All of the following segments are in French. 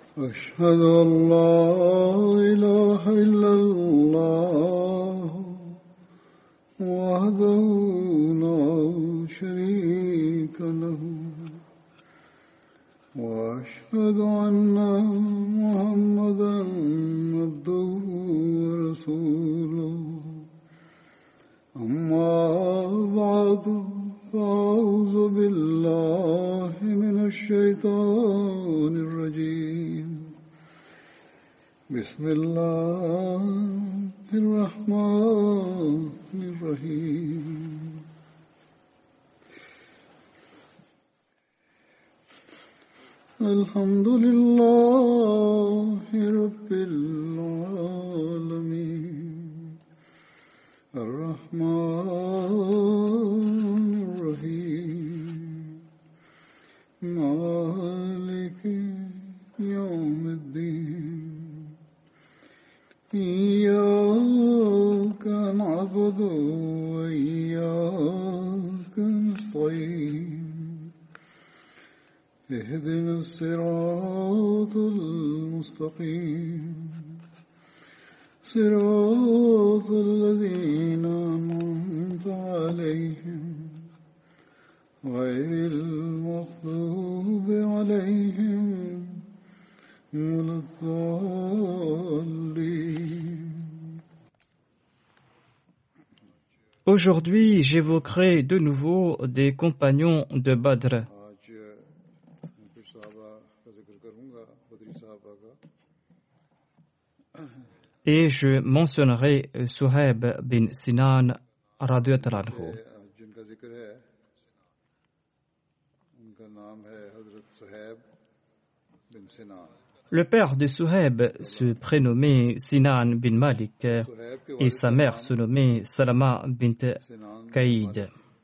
أشهد أن لا إله إلا الله وحده لا شريك له وأشهد أن محمدا عبده ورسوله أما بعد فأعوذ بالله من الشيطان الرجيم بسم الله الرحمن الرحيم الحمد لله رب العالمين الرحمن الرحيم مالك يوم الدين إياك نعبد وإياك نستعين اهدنا الصراط المستقيم صراط الذين أنعمت عليهم غير المغضوب عليهم ولا الضالين. Aujourd'hui, j'évoquerai de nouveau des compagnons de Badr. Et je mentionnerai Suhaib bin Sinan radiyallahu anhu. Le père de Suhaib se prénommait Sinan bin Malik et sa mère se nommait Salama bint Qaïd.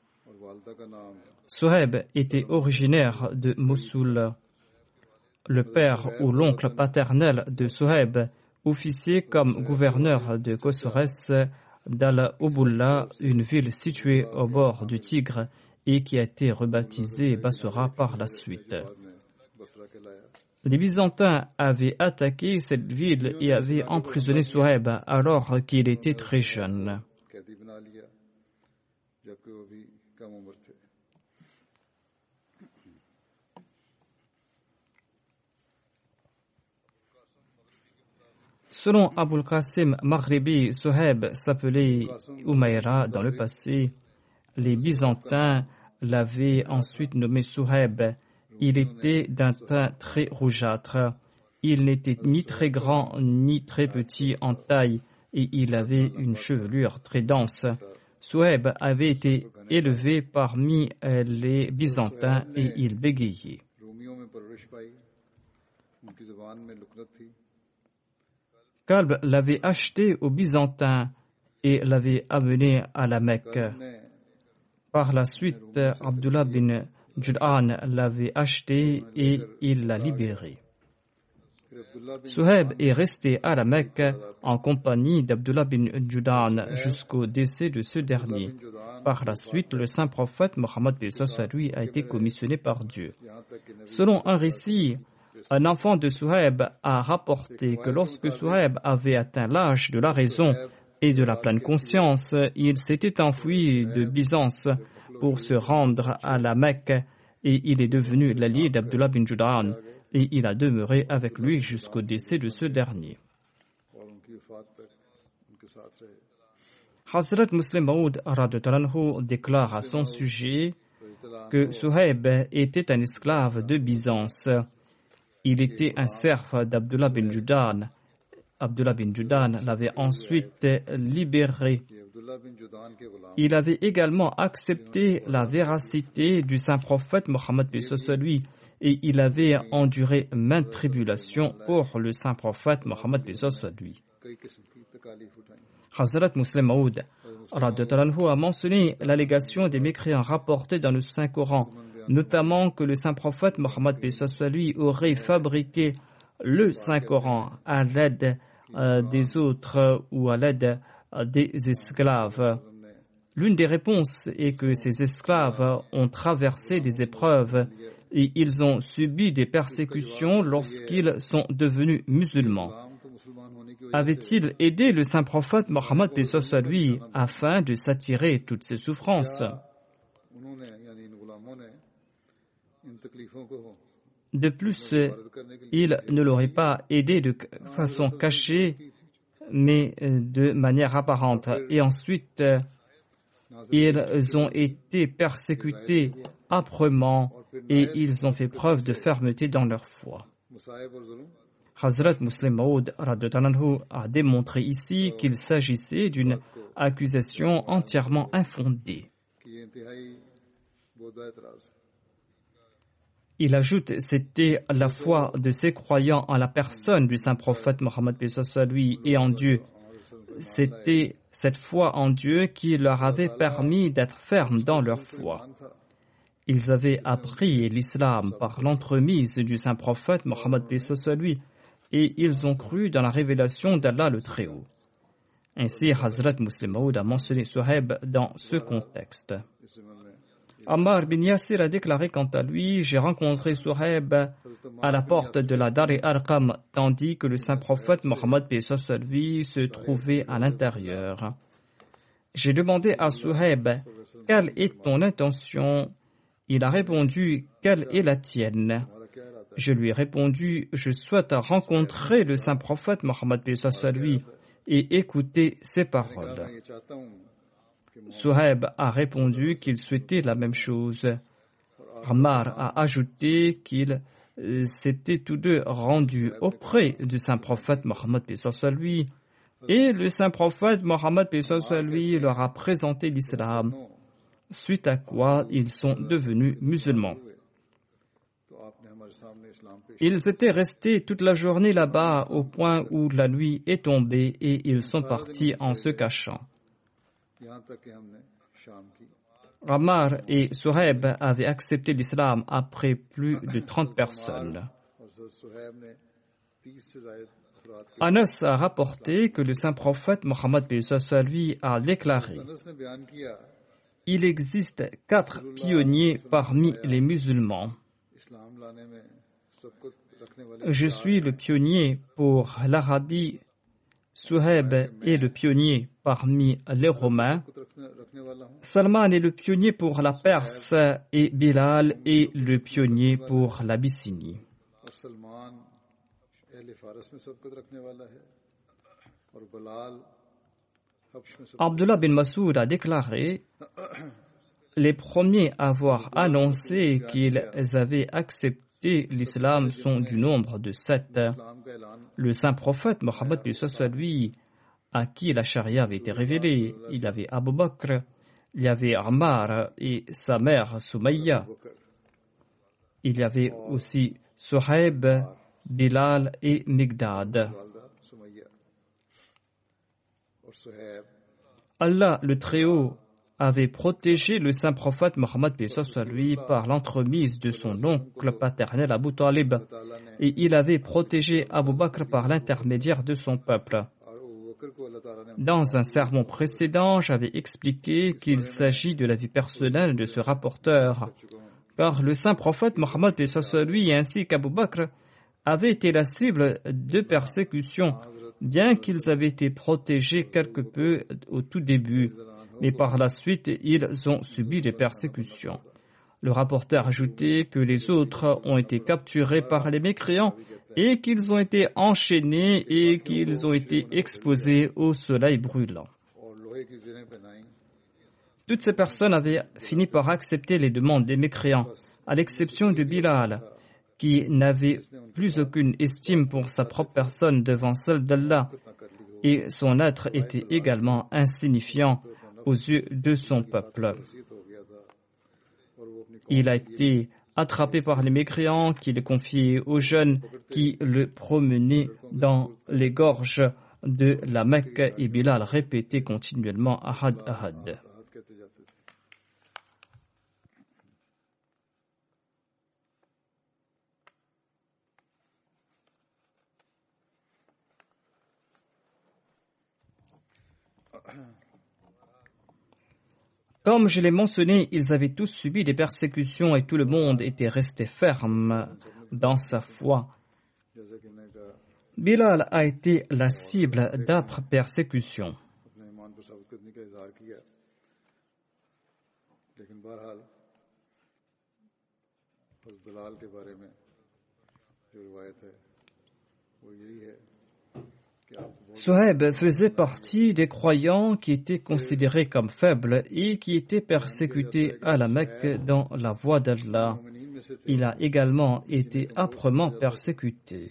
Suhaib était originaire de Mossoul. Le père ou l'oncle paternel de Suhaib officier comme gouverneur de Kosores d'Al-Ubulla, une ville située au bord du Tigre et qui a été rebaptisée Bassora par la suite. Les Byzantins avaient attaqué cette ville et avaient emprisonné Suhaib alors qu'il était très jeune. Selon Abul Qasim Maghribi, Suhaib s'appelait Umayra dans le passé. Les Byzantins l'avaient ensuite nommé Suhaib. Il était d'un teint très rougeâtre. Il n'était ni très grand ni très petit en taille et il avait une chevelure très dense. Suhaib avait été élevé parmi les Byzantins et il bégayait. Kalb l'avait acheté aux Byzantins et l'avait amené à la Mecque. Par la suite, Abdullah bin Jud'an l'avait acheté et il l'a libéré. Suhaib est resté à la Mecque en compagnie d'Abdullah bin Jud'an jusqu'au décès de ce dernier. Par la suite, le saint prophète Mohammed lui a été commissionné par Dieu. Selon un récit, un enfant de Suhaib a rapporté que lorsque Suhaib avait atteint l'âge de la raison et de la pleine conscience, il s'était enfui de Byzance pour se rendre à la Mecque et il est devenu l'allié d'Abdullah bin Jud'an et il a demeuré avec lui jusqu'au décès de ce dernier. Hazrat Muslim Maud déclare à son sujet que Suhaib était un esclave de Byzance. Il était un serf d'Abdullah bin Jud'an. Abdullah bin Jud'an l'avait ensuite libéré. Il avait également accepté la véracité du saint prophète Mohammed lui et il avait enduré maintes tribulations pour le saint prophète Mohammed lui. Hazrat Muslim Maud a mentionné l'allégation des mécréants rapportés dans le Saint-Coran, notamment que le saint prophète Mohammed lui aurait fabriqué le Saint-Coran à l'aide des autres ou à l'aide des esclaves. L'une des réponses est que ces esclaves ont traversé des épreuves et ils ont subi des persécutions lorsqu'ils sont devenus musulmans. Avait-il aidé le saint prophète Mohammed paix soit lui afin de s'attirer toutes ces souffrances? De plus, il ne l'aurait pas aidé de façon cachée, mais de manière apparente. Et ensuite, ils ont été persécutés âprement et ils ont fait preuve de fermeté dans leur foi. Hazrat Muslim Maud a démontré ici qu'il s'agissait d'une accusation entièrement infondée. Il ajoute, c'était la foi de ces croyants en la personne du saint prophète Mohammed lui et en Dieu. C'était cette foi en Dieu qui leur avait permis d'être fermes dans leur foi. Ils avaient appris l'islam par l'entremise du saint prophète Mohammed lui et ils ont cru dans la révélation d'Allah le Très-Haut. Ainsi, Hazrat Muslim Maud a mentionné Suhaib dans ce contexte. Ammar bin Yasir a déclaré quant à lui, j'ai rencontré Suhaib à la porte de la Dar Arqam, tandis que le saint prophète Mohammed lui se trouvait à l'intérieur. J'ai demandé à Suhaib, quelle est ton intention? Il a répondu, quelle est la tienne? Je lui ai répondu, je souhaite rencontrer le saint prophète Mohammed lui et écouter ses paroles. Suhaib a répondu qu'il souhaitait la même chose. Ammar a ajouté qu'ils s'étaient tous deux rendus auprès du saint prophète Mohammed lui et le saint prophète Mohammed lui leur a présenté l'islam, suite à quoi ils sont devenus musulmans. Ils étaient restés toute la journée là-bas au point où la nuit est tombée et ils sont partis en se cachant. Ammar et Suhaib avaient accepté l'islam après plus de 30 personnes. Anas a rapporté que le saint prophète Mohammed lui a déclaré: il existe 4 pionniers parmi les musulmans. Je suis le pionnier pour l'Arabie, Suhaib est le pionnier parmi les Romains, Salman est le pionnier pour la Perse et Bilal est le pionnier pour l'Abyssinie. Abdullah bin Masoud a déclaré: les premiers à avoir annoncé qu'ils avaient accepté l'islam sont du nombre de 7. Le saint prophète Mohammed lui, à qui la charia avait été révélée, il y avait Abu Bakr, il y avait Ammar et sa mère Soumaïa. Il y avait aussi Suhaib, Bilal et Migdad. Allah le Très-Haut avait protégé le saint prophète Mohammed lui par l'entremise de son oncle paternel Abu Talib et il avait protégé Abu Bakr par l'intermédiaire de son peuple. Dans un sermon précédent, j'avais expliqué qu'il s'agit de la vie personnelle de ce rapporteur, car le saint prophète Mohammed lui ainsi qu'Abu Bakr avaient été la cible de persécutions, bien qu'ils avaient été protégés quelque peu au tout début. Mais par la suite, ils ont subi des persécutions. Le rapporteur a ajouté que les autres ont été capturés par les mécréants et qu'ils ont été enchaînés et qu'ils ont été exposés au soleil brûlant. Toutes ces personnes avaient fini par accepter les demandes des mécréants, à l'exception de Bilal, qui n'avait plus aucune estime pour sa propre personne devant celle d'Allah, et son être était également insignifiant aux yeux de son peuple. Il a été attrapé par les mécréants qui le confiaient aux jeunes qui le promenaient dans les gorges de la Mecque et Bilal répétait continuellement Ahad Ahad. Comme je l'ai mentionné, ils avaient tous subi des persécutions et tout le monde était resté ferme dans sa foi. Bilal a été la cible d'âpres persécutions. Suhaib faisait partie des croyants qui étaient considérés comme faibles et qui étaient persécutés à la Mecque dans la voie d'Allah. Il a également été âprement persécuté.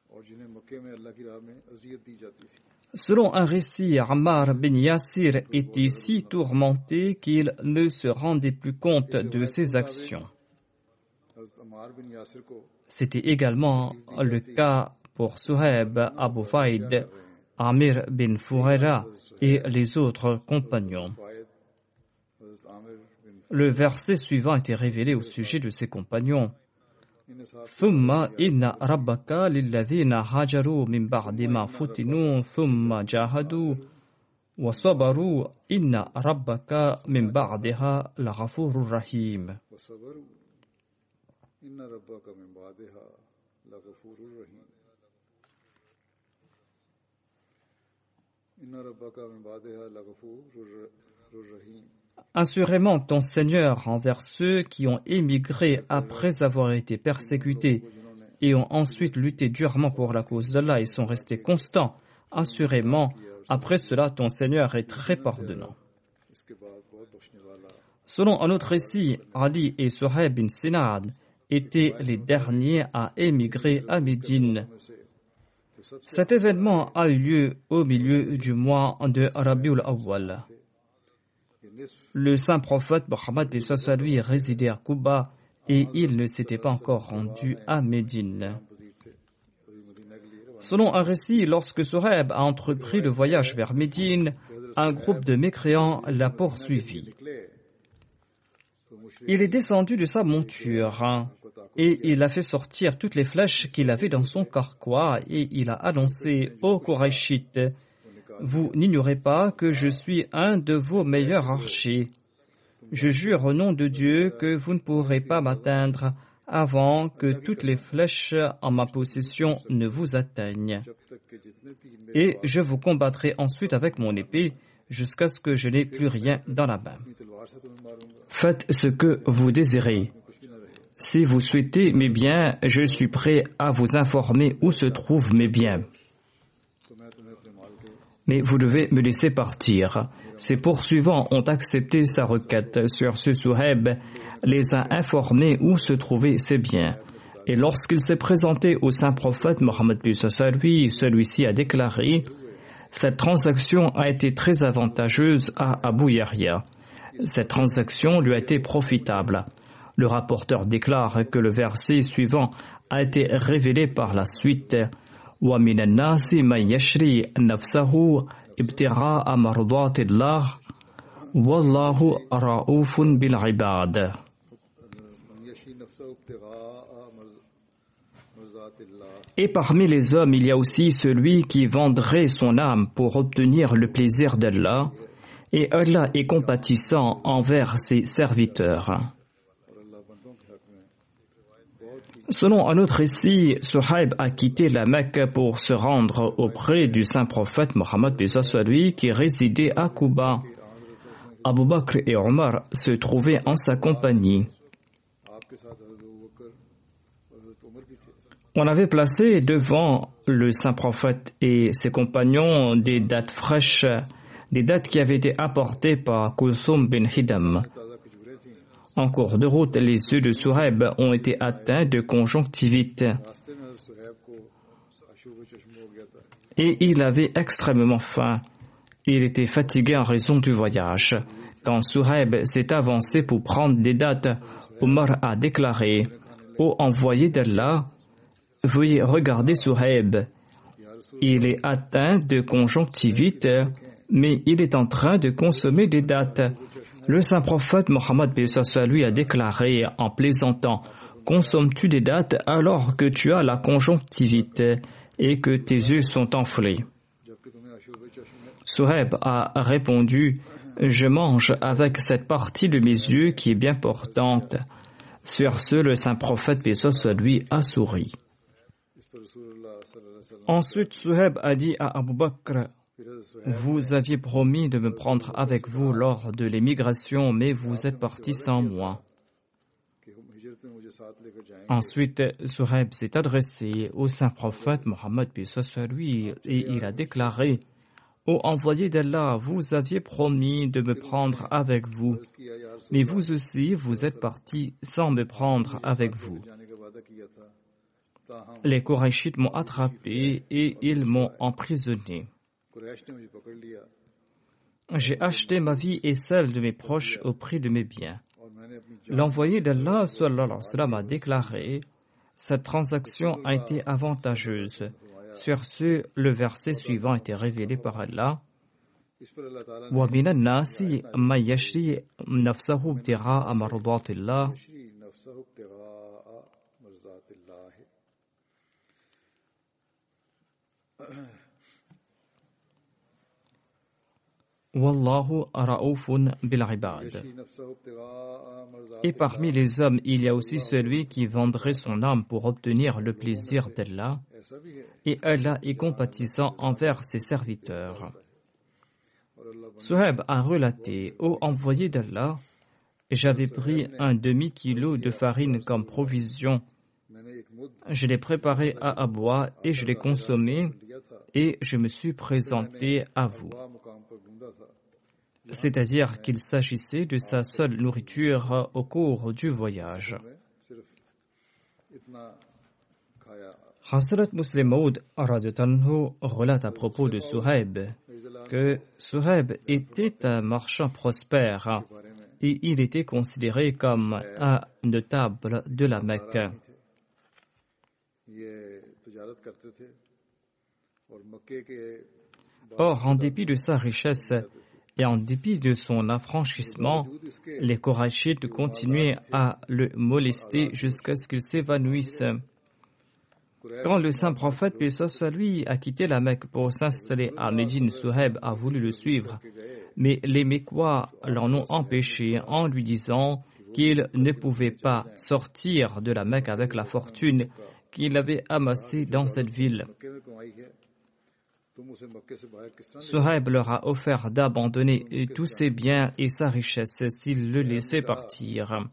Selon un récit, Ammar bin Yasir était si tourmenté qu'il ne se rendait plus compte de ses actions. C'était également le cas pour Suhaib, Abu Faïd, Amir bin Fuhaira et les autres compagnons. Le verset suivant était révélé au sujet de ces compagnons. ثم إن ربك للذين هاجروا من بعد ما فتنوا ثم جاهدوا وصبروا إن ربك من بعدها لغفور رحيم. Assurément, ton Seigneur envers ceux qui ont émigré après avoir été persécutés et ont ensuite lutté durement pour la cause d'Allah et sont restés constants. Assurément, après cela, ton Seigneur est très pardonnant. Selon un autre récit, Ali et Suhaib bin Sinad étaient les derniers à émigrer à Médine. Cet événement a eu lieu au milieu du mois de Rabiul Awwal. Le saint prophète Mohammed lui résidait à Quba et il ne s'était pas encore rendu à Médine. Selon un récit, lorsque Suhaib a entrepris le voyage vers Médine, un groupe de mécréants l'a poursuivi. Il est descendu de sa monture et il a fait sortir toutes les flèches qu'il avait dans son carquois et il a annoncé aux Qurayshites: vous n'ignorez pas que je suis un de vos meilleurs archers. Je jure au nom de Dieu que vous ne pourrez pas m'atteindre avant que toutes les flèches en ma possession ne vous atteignent. Et je vous combattrai ensuite avec mon épée jusqu'à ce que je n'ai plus rien dans la main. Faites ce que vous désirez. Si vous souhaitez mes biens, je suis prêt à vous informer où se trouvent mes biens. Mais vous devez me laisser partir. Ses poursuivants ont accepté sa requête. Sur ce, Suhaib les a informés où se trouvaient ses biens. Et lorsqu'il s'est présenté au saint prophète Mohammed lui, celui-ci a déclaré: cette transaction a été très avantageuse à Abu Yahya. Cette transaction lui a été profitable. Le rapporteur déclare que le verset suivant a été révélé par la suite. وَمِنَ النَّاسِ مَنْ يَشْرِي نَفْسَهُ ابْتِغَاءَ مَرْضَاتِ اللَّهِ وَاللَّهُ رَءُوفٌ بِالْعِبَادِ. Et parmi les hommes, il y a aussi celui qui vendrait son âme pour obtenir le plaisir d'Allah, et Allah est compatissant envers ses serviteurs. Selon un autre récit, Suhaib a quitté la Mecque pour se rendre auprès du saint prophète Mohammed qui résidait à Quba. Abu Bakr et Omar se trouvaient en sa compagnie. On avait placé devant le saint prophète et ses compagnons des dattes fraîches, des dattes qui avaient été apportées par Kulthum bin Hidam. En cours de route, les yeux de Suhaib ont été atteints de conjonctivite et il avait extrêmement faim. Il était fatigué en raison du voyage. Quand Suhaib s'est avancé pour prendre des dattes, Omar a déclaré: ô envoyé d'Allah, veuillez regarder Suhaib. Il est atteint de conjonctivite, mais il est en train de consommer des dattes. Le saint prophète Mohammed lui a déclaré en plaisantant: consommes-tu des dattes alors que tu as la conjonctivite et que tes yeux sont enflés? Suhaib a répondu: Je mange avec cette partie de mes yeux qui est bien portante. Sur ce, le saint prophète, paix soit lui, a souri. Ensuite, Suhaib a dit à Abu Bakr, vous aviez promis de me prendre avec vous lors de l'émigration, mais vous êtes parti sans moi. Ensuite, Suhaib s'est adressé au saint prophète Mohammed, paix soit lui, et il a déclaré, ô envoyé d'Allah, vous aviez promis de me prendre avec vous, mais vous aussi, vous êtes parti sans me prendre avec vous. Les Qurayshites m'ont attrapé et ils m'ont emprisonné. J'ai acheté ma vie et celle de mes proches au prix de mes biens. L'envoyé d'Allah sallallahu alayhi wa sallam a déclaré, cette transaction a été avantageuse. Sur ce, le verset suivant a été révélé par Allah. وَمِنَ النَّاسِ مَن يَشْرِي نَفْسَهُ ابْتِغَاءَ مَرْضَاتِ اللَّهِ Wallahu ra'oufun bil ibad. Et parmi les hommes, il y a aussi celui qui vendrait son âme pour obtenir le plaisir d'Allah, et Allah est compatissant envers ses serviteurs. Suhaib a relaté, ô envoyé d'Allah, j'avais pris un demi-kilo de farine comme provision. Je l'ai préparé à boire et je l'ai consommé et je me suis présenté à vous. C'est-à-dire qu'il s'agissait de sa seule nourriture au cours du voyage. Hazrat Muslim Maud relate à propos de Suhaib que Suhaib était un marchand prospère et il était considéré comme un notable de la Mecque. Or, en dépit de sa richesse et en dépit de son affranchissement, les Qurayshites continuaient à le molester jusqu'à ce qu'il s'évanouisse. Quand le saint prophète, paix soit lui, a quitté la Mecque pour s'installer à Médine, Suhaib a voulu le suivre, mais les Mécois l'en ont empêché en lui disant qu'il ne pouvait pas sortir de la Mecque avec la fortune qu'il avait amassée dans cette ville. Suhaib leur a offert d'abandonner tous ses biens et sa richesse s'il le laissait partir.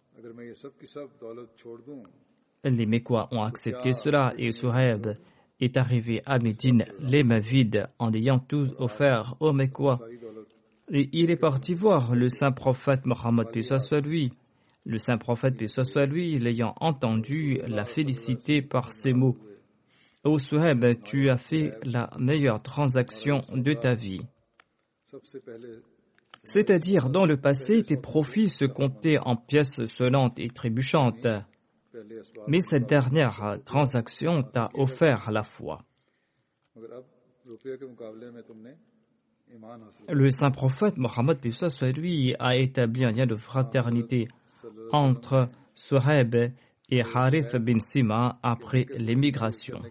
Les Mécois ont accepté cela et Suhaib est arrivé à Médine les mains vides en ayant tout offert aux Mécois. Et il est parti voir le saint prophète Mohammed, paix soit lui. Le saint prophète, paix soit lui, l'ayant entendu, l'a félicité par ces mots. Ô Suhaib, tu as fait la meilleure transaction de ta vie. C'est-à-dire, dans le passé, tes profits se comptaient en pièces sonnantes et trébuchantes. Mais cette dernière transaction t'a offert la foi. Le saint prophète Mohammed, paix soit lui, a établi un lien de fraternité entre Suhaib et Harith bin Sima après l'émigration.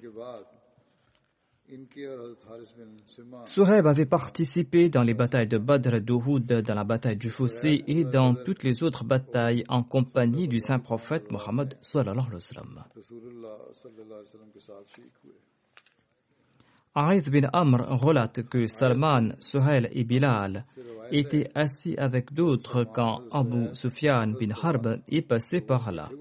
Suhaib avait participé dans les batailles de Badr, d'Uhud, dans la bataille du Fossé et dans toutes les autres batailles en compagnie du saint prophète Mohammed sallallahu alayhi wa sallam. Harith bin Amr relate que Salman, Suhail et Bilal étaient assis avec d'autres quand Abu Sufyan bin Harb est passé par là.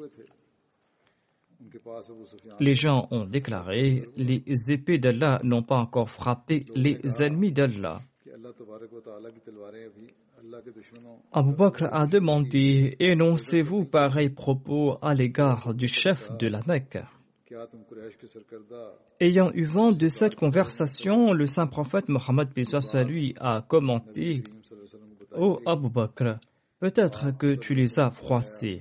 Les gens ont déclaré, les épées d'Allah n'ont pas encore frappé les ennemis d'Allah. Abu Bakr a demandé, énoncez-vous pareil propos à l'égard du chef de la Mecque. Ayant eu vent de cette conversation, le saint prophète Mohammed, paix soit lui, a commenté, ô Abu Bakr, peut-être que tu les as froissés.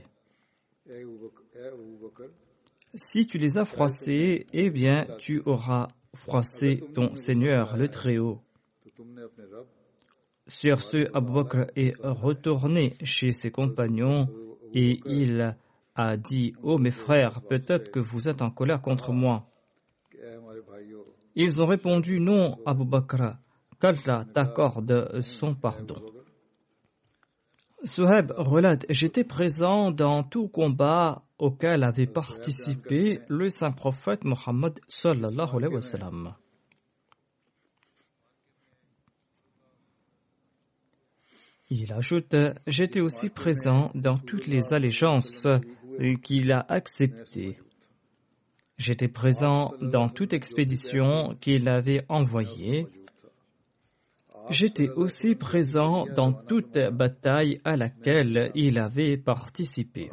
Si tu les as froissés, eh bien, tu auras froissé ton Seigneur, le Très-Haut. Sur ce, Abu Bakr est retourné chez ses compagnons et il a dit, « Oh mes frères, peut-être que vous êtes en colère contre moi. » Ils ont répondu, « Non, Abu Bakr, qu'Allah t'accorde son pardon. » Suhaib relate, j'étais présent dans tout combat auquel avait participé le saint prophète Mohammed sallallahu alayhi wa sallam. Il ajoute, j'étais aussi présent dans toutes les allégeances qu'il a acceptées. J'étais présent dans toute expédition qu'il avait envoyée. J'étais aussi présent dans toute bataille à laquelle il avait participé.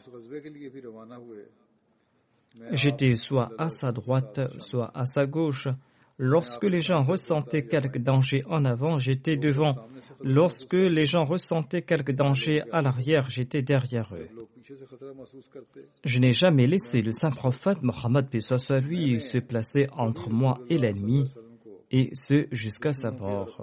J'étais soit à sa droite, soit à sa gauche. Lorsque les gens ressentaient quelque danger en avant, j'étais devant. Lorsque les gens ressentaient quelque danger à l'arrière, j'étais derrière eux. Je n'ai jamais laissé le saint prophète Mohammed lui se placer entre moi et l'ennemi, et ce jusqu'à sa mort.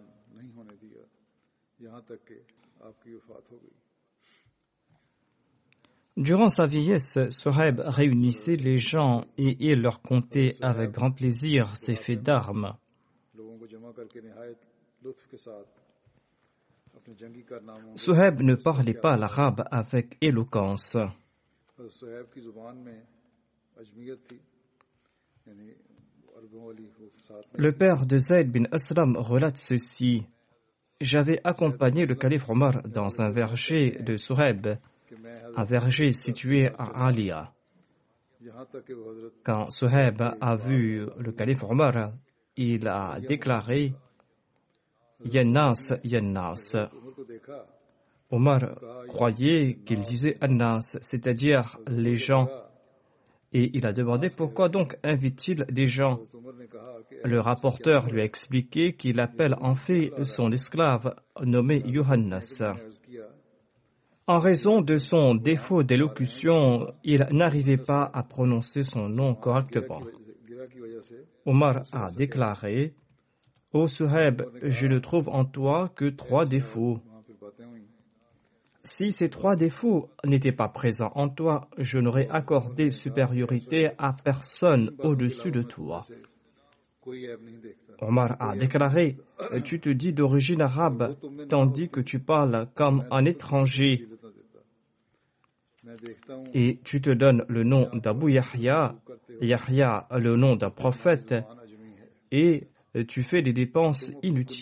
Durant sa vieillesse, Suhaib réunissait les gens et il leur contait avec grand plaisir ses faits d'armes. Suhaib ne parlait pas l'arabe avec éloquence. Le père de Zayd bin Aslam relate ceci. J'avais accompagné le calife Omar dans un verger de Suhaib, un verger situé à Alia. Quand Suhaib a vu le calife Omar, il a déclaré « Yannas, Yannas ». Omar croyait qu'il disait « Annas », c'est-à-dire les gens. Et il a demandé pourquoi donc invite-t-il des gens. Le rapporteur lui a expliqué qu'il appelle en fait son esclave nommé Yohannas. En raison de son défaut d'élocution, il n'arrivait pas à prononcer son nom correctement. Omar a déclaré « Ô Suhaib, je ne trouve en toi que 3 défauts. Si ces 3 défauts n'étaient pas présents en toi, je n'aurais accordé supériorité à personne au-dessus de toi. » Omar a déclaré « Tu te dis d'origine arabe, tandis que tu parles comme un étranger. Et tu te donnes le nom d'Abu Yahya, Yahya le nom d'un prophète, et tu fais des dépenses inutiles. »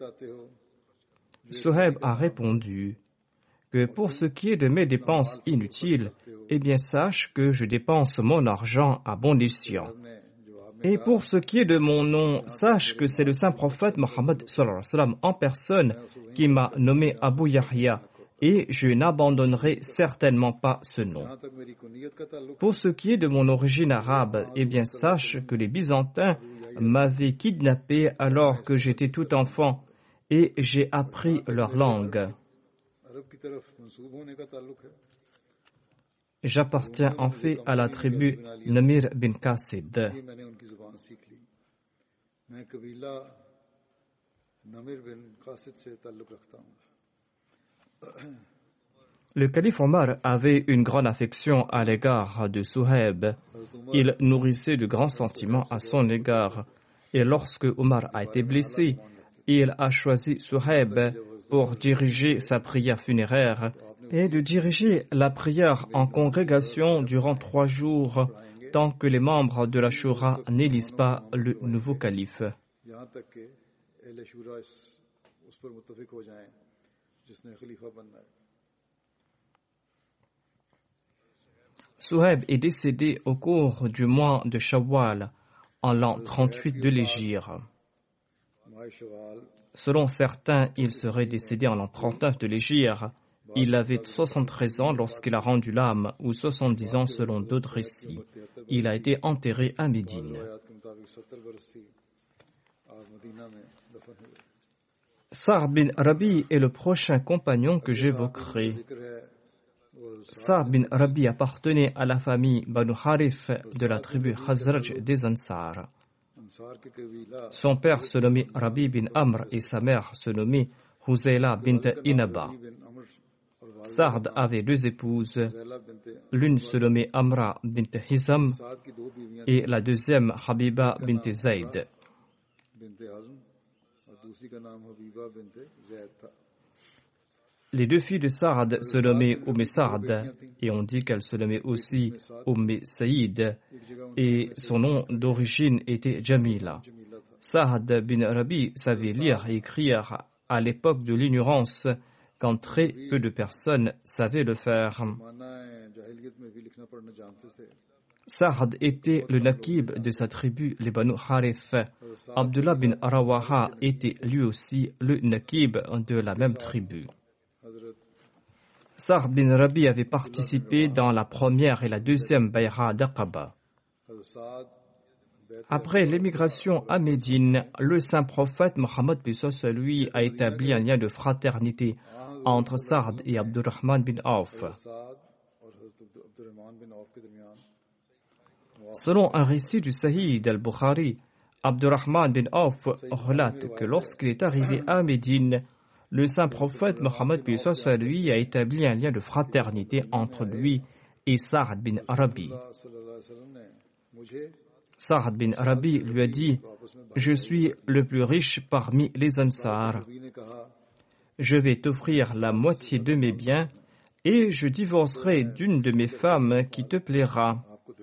Suhaib a répondu que pour ce qui est de mes dépenses inutiles, eh bien sache que je dépense mon argent à bon escient. Et pour ce qui est de mon nom, sache que c'est le saint prophète Mohammed en personne qui m'a nommé Abu Yahya, et je n'abandonnerai certainement pas ce nom. Pour ce qui est de mon origine arabe, eh bien sache que les Byzantins m'avaient kidnappé alors que j'étais tout enfant, et j'ai appris leur langue. J'appartiens en fait à la tribu Namir bin Qasid. Le calife Omar avait une grande affection à l'égard de Suhaib. Il nourrissait de grands sentiments à son égard. Et lorsque Omar a été blessé, il a choisi Suhaib pour diriger sa prière funéraire et de diriger la prière en congrégation durant 3 jours, tant que les membres de la Shura n'élisent pas le nouveau calife. Suhaib est décédé au cours du mois de Shawwal, en l'an 38 de l'Hégire. Selon certains, il serait décédé en l'an 39 de l'Hégire. Il avait 73 ans lorsqu'il a rendu l'âme, ou 70 ans selon d'autres récits. Il a été enterré à Médine. Sa'd bin Rabi est le prochain compagnon que j'évoquerai. Sa'd bin Rabi appartenait à la famille Banu Harith de la tribu Khazraj des Ansar. Son père se nommait Rabi bin Amr et sa mère se nommait Huzayla bint Inaba. Sa'd avait 2 épouses. L'une se nommait Amra bint Hizam et la deuxième Habiba bint Zayd. Les deux filles de Saad se nommaient Saad et on dit qu'elle se nommait aussi Saïd et son nom d'origine était Jamila. Saad bin Rabi savait lire et écrire à l'époque de l'ignorance quand très peu de personnes savaient le faire. Saad était le Naqib de sa tribu, les Banu Harith. Abdullah bin Rawaha était lui aussi le Naqib de la même tribu. Saad bin Rabi avait participé dans la première et la deuxième Bay'a d'Aqaba. Après l'émigration à Médine, le saint prophète Mohammed lui a établi un lien de fraternité entre Saad et Abdurrahman bin Auf. Selon un récit du Sahih al-Bukhari, Abdurrahman bin Auf relate que lorsqu'il est arrivé à Médine, le saint prophète Mohammed lui a établi un lien de fraternité entre lui et Saad bin Rabi. Saad bin Rabi lui a dit « Je suis le plus riche parmi les Ansar. Je vais t'offrir la moitié de mes biens et je divorcerai d'une de mes femmes qui te plaira.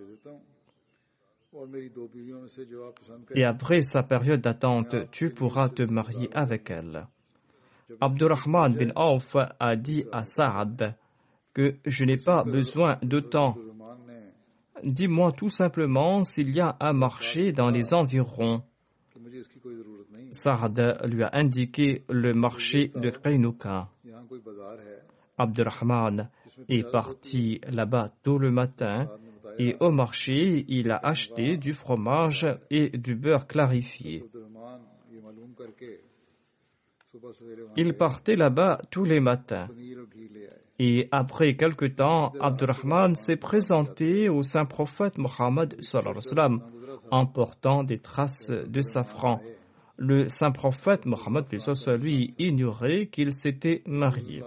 Et après sa période d'attente, tu pourras te marier avec elle. » Abdurrahman bin Auf a dit à Saad que je n'ai pas besoin d'autant. Dis-moi tout simplement s'il y a un marché dans les environs. Saad lui a indiqué le marché de Qaynuqa. Abdurrahman est parti là-bas tôt le matin et au marché, il a acheté du fromage et du beurre clarifié. Il partait là-bas tous les matins. Et après quelque temps, Abdurrahman s'est présenté au saint prophète Mohammed en portant des traces de safran. Le saint prophète Mohammed lui ignorait qu'il s'était marié.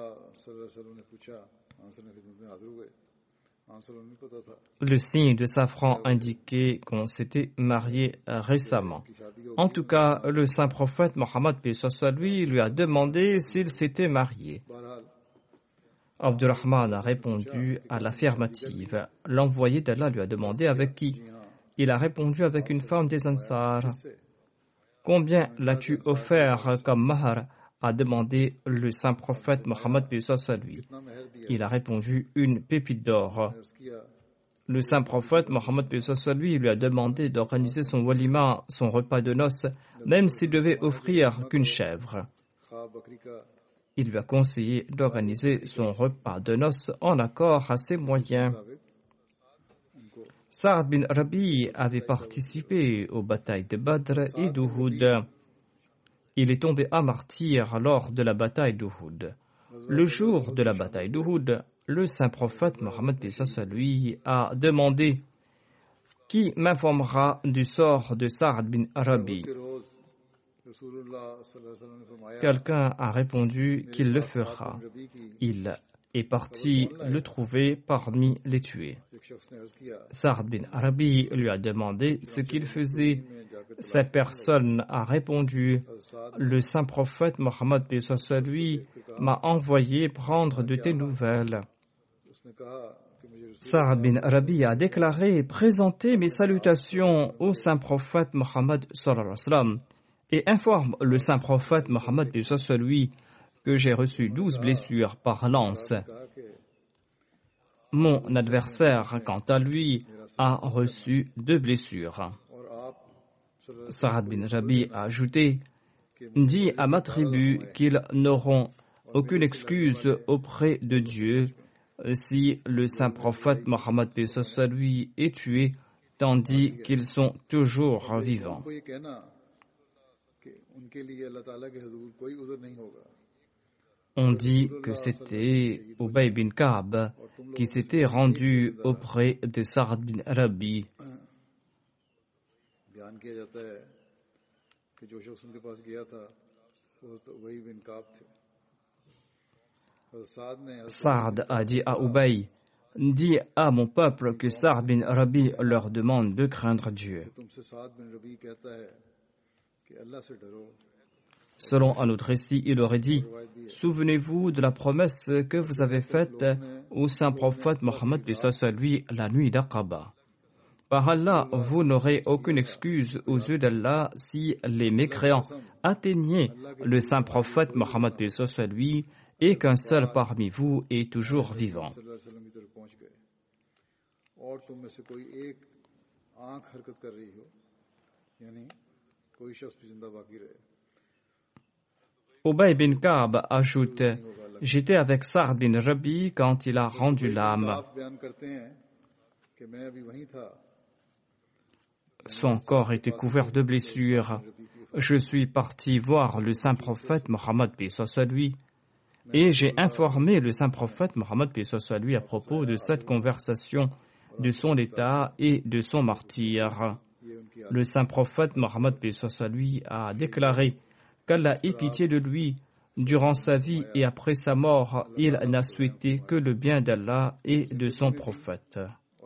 Le signe de safran indiquait qu'on s'était marié récemment. En tout cas, le saint prophète Mohammed lui a demandé s'il s'était marié. Abdurrahman a répondu à l'affirmative. L'envoyé d'Allah lui a demandé avec qui. Il a répondu avec une femme des Ansar. Combien l'as-tu offert comme mahar? A demandé le saint prophète Mohammed lui. Il a répondu une pépite d'or. Le saint prophète Mohammed lui a demandé d'organiser son walima, son repas de noces, même s'il devait offrir qu'une chèvre. Il lui a conseillé d'organiser son repas de noces en accord à ses moyens. Saad bin Rabi avait participé aux batailles de Badr et d'Uhud. Il est tombé à martyr lors de la bataille d'Uhud. Le jour de la bataille d'Uhud, le saint prophète Mohammed lui a demandé « Qui m'informera du sort de Saad bin Rabi ?» Quelqu'un a répondu qu'il le fera. Il est parti le trouver parmi les tués. Saad bin Rabi lui a demandé ce qu'il faisait. Cette personne a répondu « Le saint prophète Mohammed lui m'a envoyé prendre de tes nouvelles. » Saad bin Rabi a déclaré « Présentez mes salutations au saint prophète Mohammed et informe le saint prophète Mohammed lui que j'ai reçu 12 blessures par lance. Mon adversaire, quant à lui, a reçu 2 blessures. » Saad bin Rabi a ajouté « Dis à ma tribu qu'ils n'auront aucune excuse auprès de Dieu si le saint prophète Mohammed lui est tué, tandis qu'ils sont toujours vivants. » On dit que c'était Ubay bin Ka'b qui s'était rendu auprès de Saad bin Rabi. Saad a dit à Ubay, dis à mon peuple que Saad bin Rabi leur demande de craindre Dieu. Selon un autre récit, il aurait dit: souvenez-vous de la promesse que vous avez faite au saint prophète Mohammed lui la nuit d'Aqaba. Par Allah, vous n'aurez aucune excuse aux yeux d'Allah si les mécréants atteignaient le saint prophète Mohammed lui et qu'un seul parmi vous est toujours vivant. Ubay bin Ka'b ajoute: j'étais avec Sa'd bin Rabi quand il a rendu l'âme. Son corps était couvert de blessures. Je suis parti voir le saint prophète Mohammed lui et j'ai informé le saint prophète Mohammed lui à propos de cette conversation, de son état et de son martyre. Le saint prophète Mohammed lui a déclaré qu'Allah ait pitié de lui. Durant sa vie et après sa mort, il n'a souhaité que le bien d'Allah et de son prophète.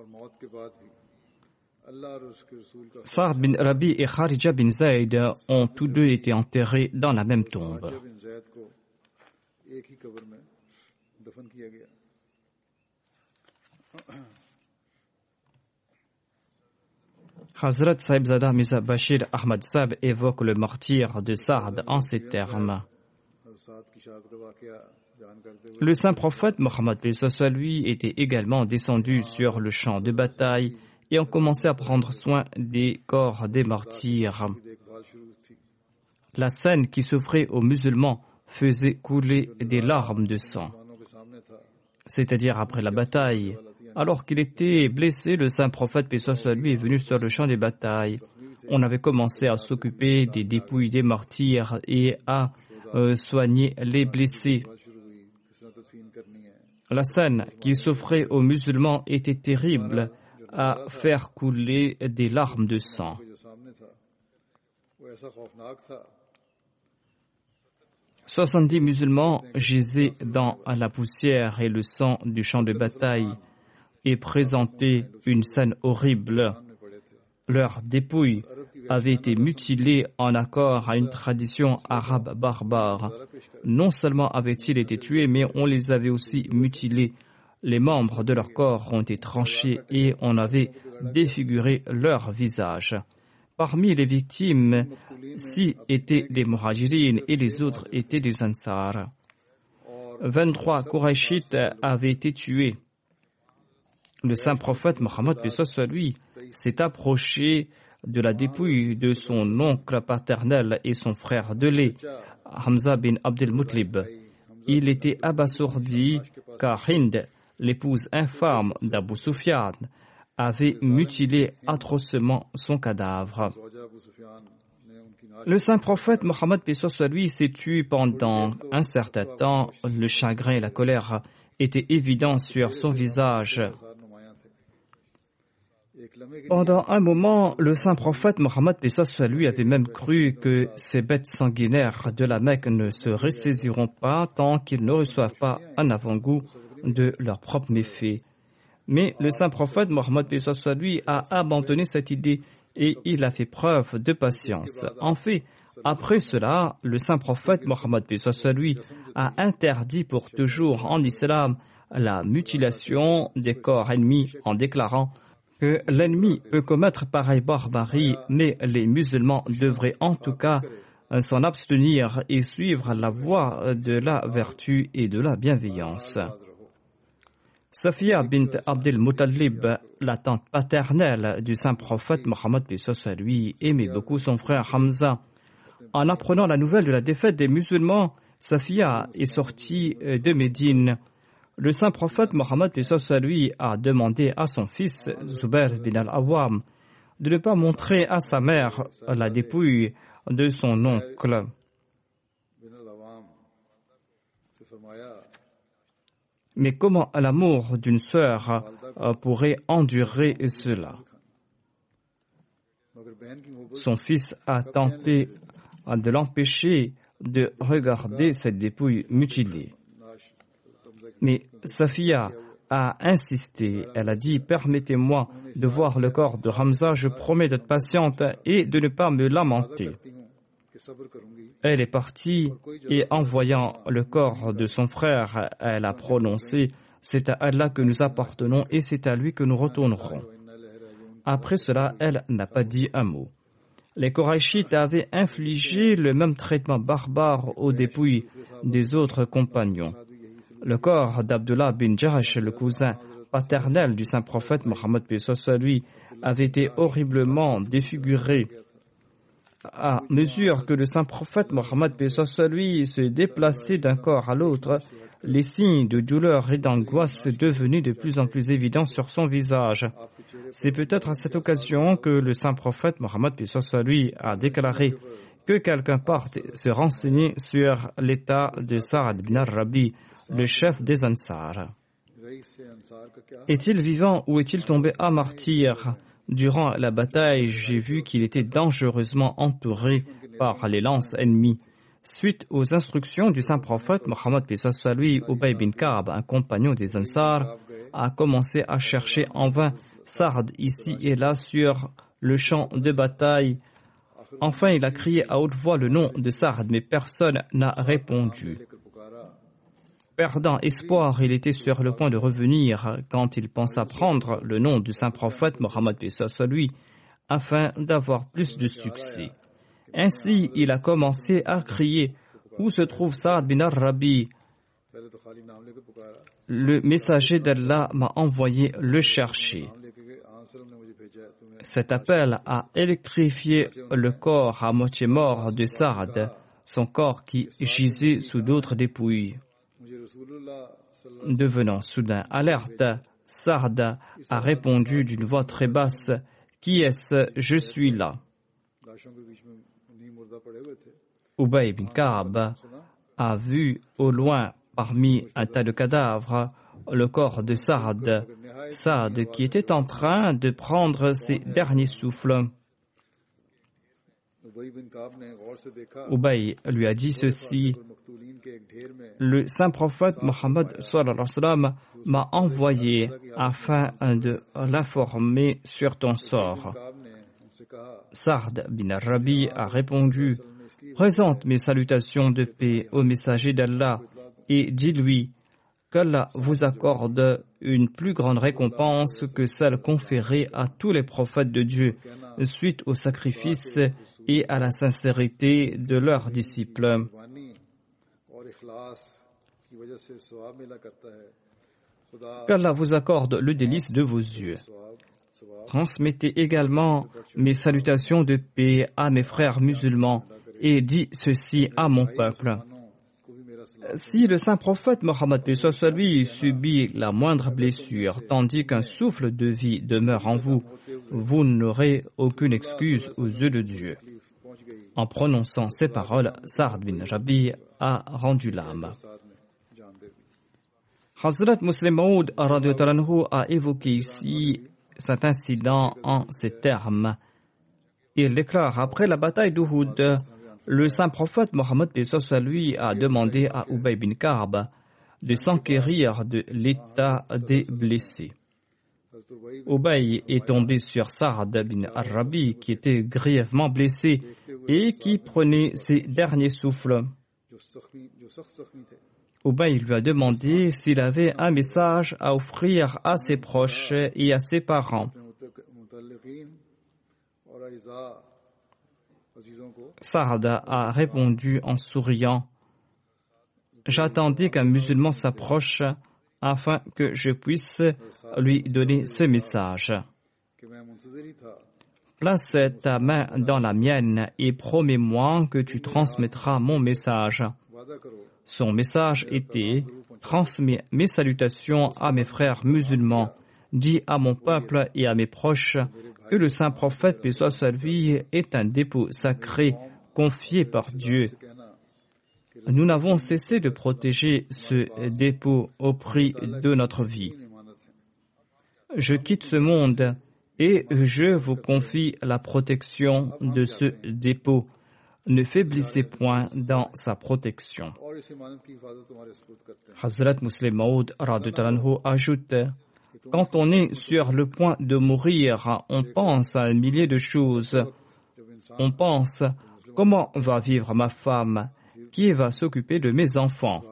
Sa'd bin Rabi et Kharija bin Zayd ont tous deux été enterrés dans la même tombe. Hazrat Sahibzada Mirza Bashir Ahmad Sahib évoque le martyre de Sa'd en ces termes. Le saint prophète Mohammed lui était également descendu sur le champ de bataille et ont commencé à prendre soin des corps des martyrs. La scène qui s'offrait aux musulmans faisait couler des larmes de sang. C'est-à-dire après la bataille. Alors qu'il était blessé, le saint prophète lui est venu sur le champ des batailles. On avait commencé à s'occuper des dépouilles des martyrs et à soigner les blessés. La scène qui s'offrait aux musulmans était terrible, à faire couler des larmes de sang. « 70 musulmans gisaient dans la poussière et le sang du champ de bataille et présentaient une scène horrible. Leurs dépouilles avaient été mutilées en accord à une tradition arabe barbare. Non seulement avaient-ils été tués, mais on les avait aussi mutilés. Les membres de leur corps ont été tranchés et on avait défiguré leur visage. Parmi les victimes, 6 étaient des muhajirines et les autres étaient des ansars. 23 Qurayshites avaient été tués. Le saint prophète Mohammed lui s'est approché de la dépouille de son oncle paternel et son frère de lait, Hamza bin Abdel Muttalib. Il était abasourdi car Hind, l'épouse infâme d'Abu Sufyan, avait mutilé atrocement son cadavre. Le saint prophète Mohammed lui s'est tué pendant un certain temps. Le chagrin et la colère étaient évidents sur son visage. Pendant un moment, le saint prophète Mohammed lui avait même cru que ces bêtes sanguinaires de la Mecque ne se ressaisiront pas tant qu'ils ne reçoivent pas un avant-goût de leurs propres méfaits. Mais le saint prophète Mohammed lui a abandonné cette idée et il a fait preuve de patience. En fait, après cela, le saint prophète Mohammed lui a interdit pour toujours en islam la mutilation des corps ennemis en déclarant que l'ennemi peut commettre pareille barbarie, mais les musulmans devraient en tout cas s'en abstenir et suivre la voie de la vertu et de la bienveillance. Safiya bint Abdel Muttalib, la tante paternelle du saint prophète Mohammed lui, aimait beaucoup son frère Hamza. En apprenant la nouvelle de la défaite des musulmans, Safiya est sortie de Médine. Le saint prophète Mohammed lui a demandé à son fils Zubair bin al-Awwam de ne pas montrer à sa mère la dépouille de son oncle. Mais comment l'amour d'une sœur pourrait endurer cela? Son fils a tenté de l'empêcher de regarder cette dépouille mutilée. Mais Safiya a insisté. Elle a dit: permettez-moi de voir le corps de Hamza, je promets d'être patiente et de ne pas me lamenter. Elle est partie et en voyant le corps de son frère, elle a prononcé « C'est à Allah que nous appartenons et c'est à lui que nous retournerons ». Après cela, elle n'a pas dit un mot. Les Qurayshites avaient infligé le même traitement barbare aux dépouilles des autres compagnons. Le corps d'Abdullah bin Jahash, le cousin paternel du saint prophète Mohammed lui, avait été horriblement défiguré. À mesure que le saint prophète Mohammed lui se déplaçait d'un corps à l'autre, les signes de douleur et d'angoisse devenaient de plus en plus évidents sur son visage. C'est peut-être à cette occasion que le saint prophète Mohammed lui a déclaré que quelqu'un parte se renseigner sur l'état de Sa'ad bin al-Rabi, le chef des Ansar. Est-il vivant ou est-il tombé à martyr? Durant la bataille, j'ai vu qu'il était dangereusement entouré par les lances ennemies. Suite aux instructions du saint prophète Mohammed lui, Ubay bin Ka'b, un compagnon des Ansar, a commencé à chercher en vain Sa'd ici et là sur le champ de bataille. Enfin, il a crié à haute voix le nom de Sa'd, mais personne n'a répondu. Perdant espoir, il était sur le point de revenir quand il pensa prendre le nom du saint prophète Mohammed lui, afin d'avoir plus de succès. Ainsi, il a commencé à crier « Où se trouve Sa'd bin al-Rabi » Le messager d'Allah m'a envoyé le chercher. Cet appel a électrifié le corps à moitié mort de Sa'd, son corps qui gisait sous d'autres dépouilles. Devenant soudain alerte, Sa'd a répondu d'une voix très basse « Qui est-ce? Je suis là ». Ubay bin Ka'b a vu au loin, parmi un tas de cadavres, le corps de Sa'd, qui était en train de prendre ses derniers souffles. Ubay lui a dit ceci: le saint prophète Mohammed m'a envoyé afin de l'informer sur ton sort. Sa'd bin al-Rabi a répondu: présente mes salutations de paix au messager d'Allah et dis-lui qu'Allah vous accorde une plus grande récompense que celle conférée à tous les prophètes de Dieu suite au sacrifice et à la sincérité de leurs disciples. Qu'Allah vous accorde le délice de vos yeux. Transmettez également mes salutations de paix à mes frères musulmans et dis ceci à mon peuple. Si le saint prophète Mohammed lui subit la moindre blessure, tandis qu'un souffle de vie demeure en vous, vous n'aurez aucune excuse aux yeux de Dieu. En prononçant ces paroles, Sa'd bin Rabi a rendu l'âme. Hazrat Muslim Maud a évoqué ici cet incident en ces termes. Il déclare: après la bataille d'Uhud, le saint prophète Mohammed lui a demandé à Ubay bin Ka'b de s'enquérir de l'état des blessés. Ubay est tombé sur Sa'd bin al-Rabi qui était grièvement blessé et qui prenait ses derniers souffles. Ubay lui a demandé s'il avait un message à offrir à ses proches et à ses parents. Sa'd a répondu en souriant: j'attendais qu'un musulman s'approche afin que je puisse lui donner ce message. Place ta main dans la mienne et promets-moi que tu transmettras mon message. Son message était: transmets mes salutations à mes frères musulmans, dis à mon peuple et à mes proches que le saint prophète, paix soit sur lui, est un dépôt sacré confié par Dieu. Nous n'avons cessé de protéger ce dépôt au prix de notre vie. Je quitte ce monde et je vous confie la protection de ce dépôt. Ne faiblissez point dans sa protection. Hazrat Muslim Maud ajoute: quand on est sur le point de mourir, on pense à un millier de choses. On pense Comment va vivre ma femme? Qui va s'occuper de mes enfants?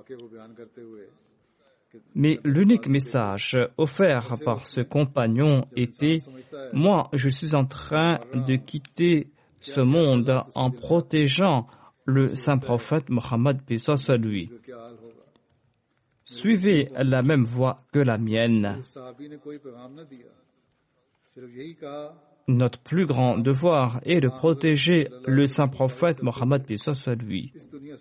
Mais l'unique message offert par ce compagnon était « Moi, je suis en train de quitter ce monde en protégeant le saint prophète Mohammed, paix soit lui. Suivez la même voie que la mienne. Notre plus grand devoir est de protéger le saint prophète Mohammed, paix soit lui. »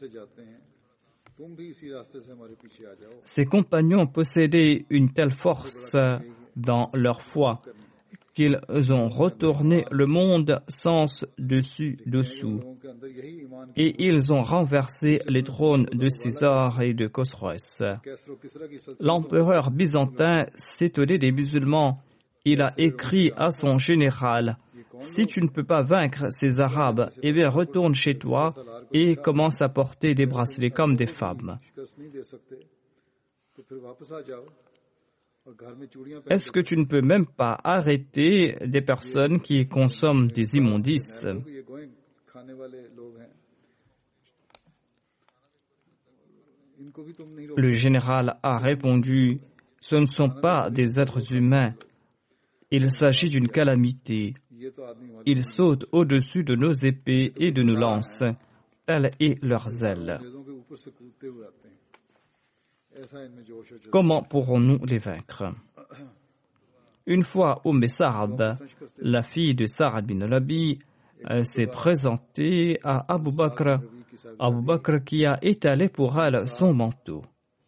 Ces compagnons possédaient une telle force dans leur foi qu'ils ont retourné le monde sens dessus dessous et ils ont renversé les trônes de César et de Khosroès. L'empereur byzantin s'étonnait des musulmans. Il a écrit à son général: si tu ne peux pas vaincre ces Arabes, eh bien retourne chez toi et commence à porter des bracelets comme des femmes. Est-ce que tu ne peux même pas arrêter des personnes qui consomment des immondices? Le général a répondu: ce ne sont pas des êtres humains. Il s'agit d'une calamité. Ils sautent au-dessus de nos épées et de nos lances. Telle est leur zèle. Comment pourrons-nous les vaincre? Une fois, Sa'd, la fille de Sa'd bin Rabi, s'est présentée à Abu Bakr. Abu Bakr qui a étalé pour elle son manteau.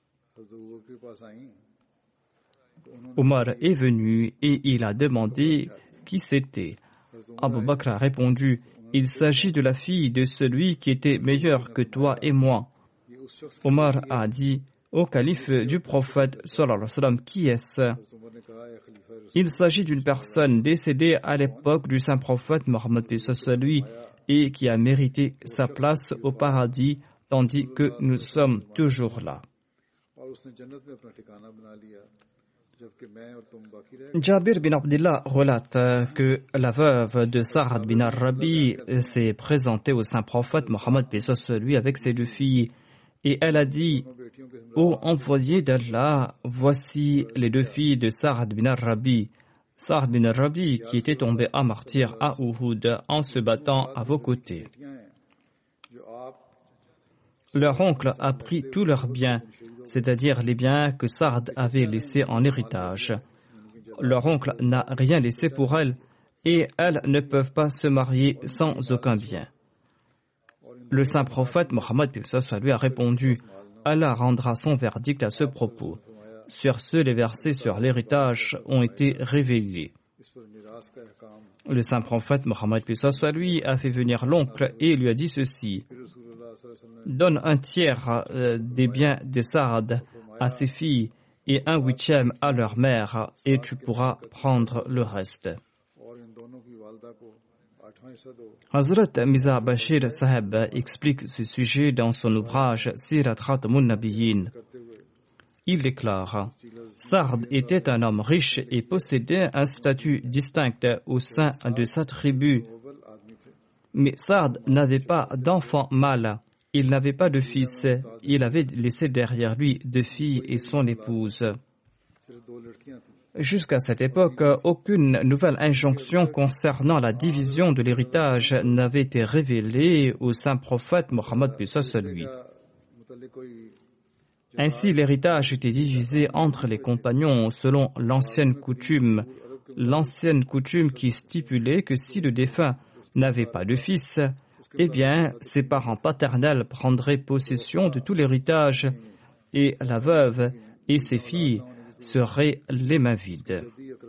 Omar est venu et il a demandé qui c'était. Abu Bakr a répondu: il s'agit de la fille de celui qui était meilleur que toi et moi. Omar a dit: ô calife du prophète sallallahu alayhi wa sallam, qui est-ce? Il s'agit d'une personne décédée à l'époque du saint prophète Mohammed lui et qui a mérité sa place au paradis tandis que nous sommes toujours là. Jabir bin Abdullah relate que la veuve de Sa'd bin Rabi s'est présentée au saint prophète Mohammed lui avec ses deux filles et elle a dit: ô envoyé d'Allah, voici les deux filles de Sa'd bin Rabi. Sa'd bin Rabi qui était tombé à martyr à Uhud en se battant à vos côtés. Leur oncle a pris tous leurs biens, c'est-à-dire les biens que Sa'd avait laissés en héritage. Leur oncle n'a rien laissé pour elles et elles ne peuvent pas se marier sans aucun bien. Le saint prophète Mohammed lui a répondu: Allah rendra son verdict à ce propos. Sur ce, les versets sur l'héritage ont été révélés. Le saint prophète Mohammed lui a fait venir l'oncle et lui a dit ceci: donne un tiers des biens de Sa'd à ses filles et un huitième à leur mère et tu pourras prendre le reste. Hazrat Mirza Bashir Saheb explique ce sujet dans son ouvrage Sirat Khatamun Nabiyyin. Il déclare: Sa'd était un homme riche et possédait un statut distinct au sein de sa tribu. Mais Sa'd n'avait pas d'enfant mâle. Il n'avait pas de fils. Il avait laissé derrière lui deux filles et son épouse. Jusqu'à cette époque, aucune nouvelle injonction concernant la division de l'héritage n'avait été révélée au saint prophète Mohammed lui. Ainsi, l'héritage était divisé entre les compagnons selon l'ancienne coutume qui stipulait que si le défunt n'avait pas de fils, eh bien, ses parents paternels prendraient possession de tout l'héritage et la veuve et ses filles seraient les mains vides.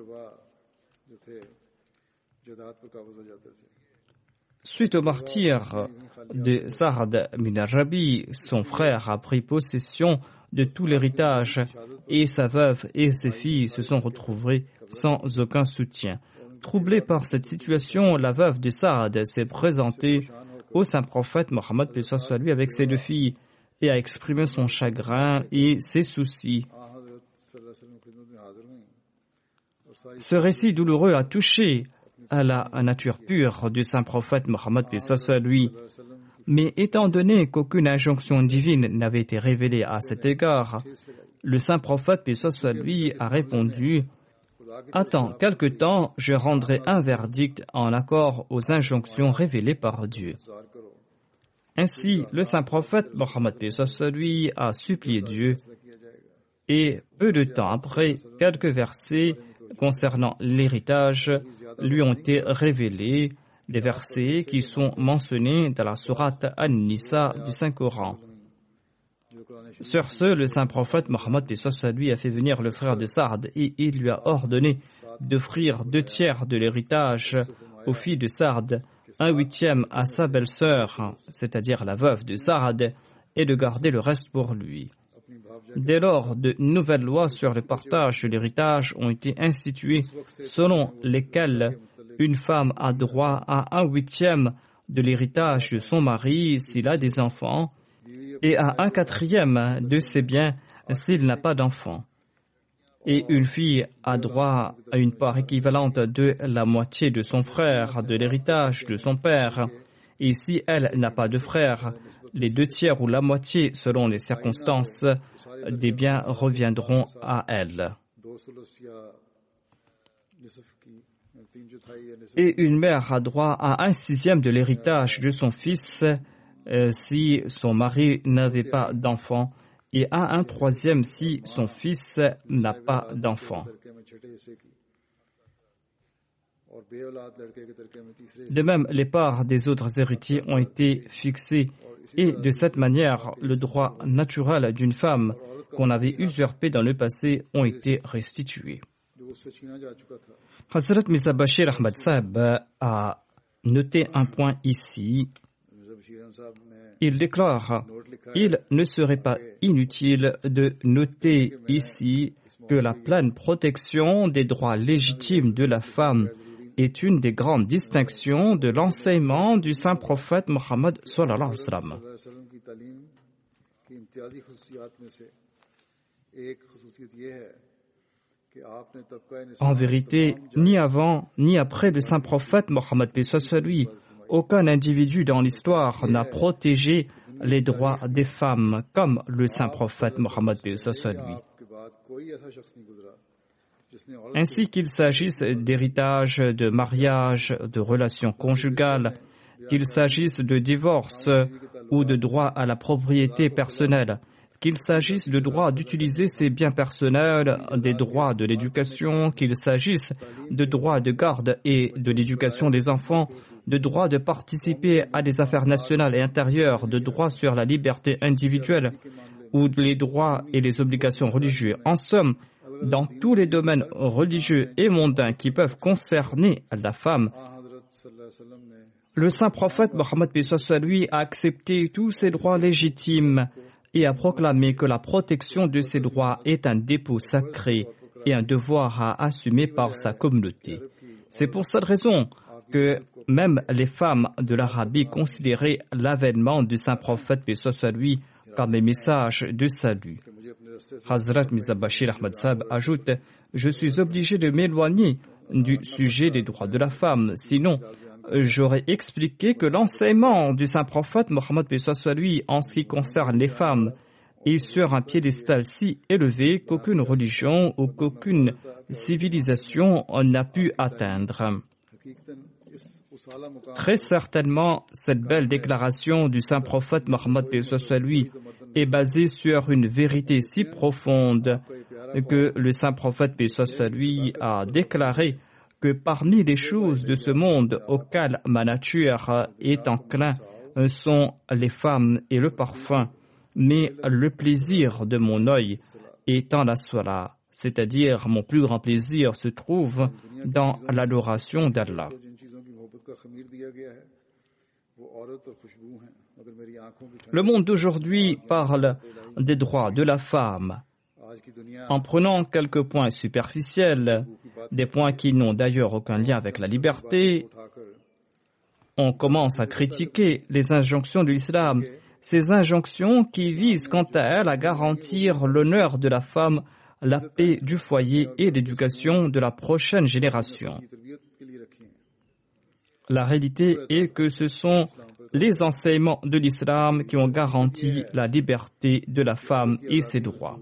Suite au martyre de Sa'd bin Rabi, son frère a pris possession de tout l'héritage et sa veuve et ses filles se sont retrouvées sans aucun soutien. Troublée par cette situation, la veuve de Sa'd s'est présentée au saint prophète Mohammed lui avec ses deux filles et a exprimé son chagrin et ses soucis. Ce récit douloureux a touché à la nature pure du saint prophète Mohammed lui. Mais étant donné qu'aucune injonction divine n'avait été révélée à cet égard, le saint prophète, paix soit lui, a répondu « Attends, quelque temps, je rendrai un verdict en accord aux injonctions révélées par Dieu. » Ainsi, le saint prophète, Mohammed, paix soit lui, a supplié Dieu et peu de temps après, quelques versets concernant l'héritage lui ont été révélés, des versets qui sont mentionnés dans la sourate An-Nisa du Saint-Coran. Sur ce, le saint prophète Mohammed lui a fait venir le frère de Saad et il lui a ordonné d'offrir 2/3 de l'héritage aux filles de Saad, 1/8 à sa belle-sœur, c'est-à-dire la veuve de Saad, et de garder le reste pour lui. Dès lors, de nouvelles lois sur le partage de l'héritage ont été instituées, selon lesquelles une femme a droit à 1/8 de l'héritage de son mari s'il a des enfants et à 1/4 de ses biens s'il n'a pas d'enfants. Et une fille a droit à une part équivalente de la moitié de son frère de l'héritage de son père. Et si elle n'a pas de frère, les 2/3 ou la moitié, selon les circonstances, des biens reviendront à elle. Et une mère a droit à 1/6 de l'héritage de son fils si son mari n'avait pas d'enfant et à 1/3 si son fils n'a pas d'enfant. De même, les parts des autres héritiers ont été fixées et de cette manière, le droit naturel d'une femme qu'on avait usurpé dans le passé ont été restitués. Hazrat Mirza Bashir Ahmad Sahib a noté un point ici. Il déclare « Il ne serait pas inutile de noter ici que la pleine protection des droits légitimes de la femme est une des grandes distinctions de l'enseignement du saint prophète Mohammed sallallahu alayhi wa sallam. En vérité, ni avant ni après le saint prophète Mohammed paix soit sur lui, aucun individu dans l'histoire n'a protégé les droits des femmes comme le saint prophète Mohammed paix soit sur lui. Ainsi qu'il s'agisse d'héritage, de mariage, de relations conjugales, qu'il s'agisse de divorce ou de droit à la propriété personnelle, qu'il s'agisse de droit d'utiliser ses biens personnels, des droits de l'éducation, qu'il s'agisse de droits de garde et de l'éducation des enfants, de droit de participer à des affaires nationales et intérieures, de droits sur la liberté individuelle ou les droits et les obligations religieuses. En somme, dans tous les domaines religieux et mondains qui peuvent concerner la femme, le saint prophète Mohammed paix soit sur lui a accepté tous ces droits légitimes et a proclamé que la protection de ces droits est un dépôt sacré et un devoir à assumer par sa communauté. C'est pour cette raison que même les femmes de l'Arabie considéraient l'avènement du saint prophète paix soit sur lui comme un message de salut. Hazrat Mirza Bashir Ahmad Sahib ajoute « Je suis obligé de m'éloigner du sujet des droits de la femme, sinon j'aurais expliqué que l'enseignement du saint prophète Mohammed paix soit sur lui en ce qui concerne les femmes est sur un piédestal si élevé qu'aucune religion ou qu'aucune civilisation n'a pu atteindre. » Très certainement, cette belle déclaration du saint prophète Mohammed paix soit sur lui est basée sur une vérité si profonde que le saint prophète paix soit sur lui a déclaré que parmi les choses de ce monde auxquelles ma nature est enclin sont les femmes et le parfum, mais le plaisir de mon œil étant la salat, c'est-à-dire mon plus grand plaisir se trouve dans l'adoration d'Allah. Le monde d'aujourd'hui parle des droits de la femme en prenant quelques points superficiels, des points qui n'ont d'ailleurs aucun lien avec la liberté. On commence à critiquer les injonctions de l'islam, ces injonctions qui visent quant à elles à garantir l'honneur de la femme, la paix du foyer et l'éducation de la prochaine génération. La réalité est que ce sont les enseignements de l'islam qui ont garanti la liberté de la femme et ses droits.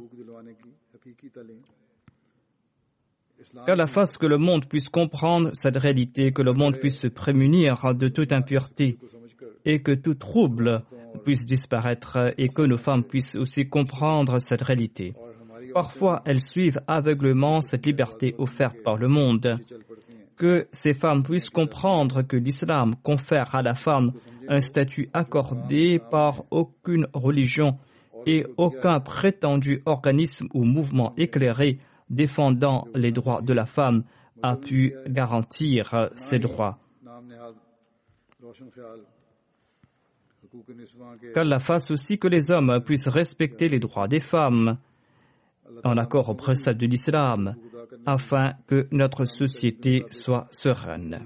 Qu'Allah fasse que le monde puisse comprendre cette réalité, que le monde puisse se prémunir de toute impureté et que tout trouble puisse disparaître et que nos femmes puissent aussi comprendre cette réalité. Parfois, elles suivent aveuglément cette liberté offerte par le monde. Que ces femmes puissent comprendre que l'islam confère à la femme un statut accordé par aucune religion et aucun prétendu organisme ou mouvement éclairé défendant les droits de la femme a pu garantir ces droits. Qu'Allah fasse aussi que les hommes puissent respecter les droits des femmes en accord aux préceptes de l'islam, afin que notre société soit sereine.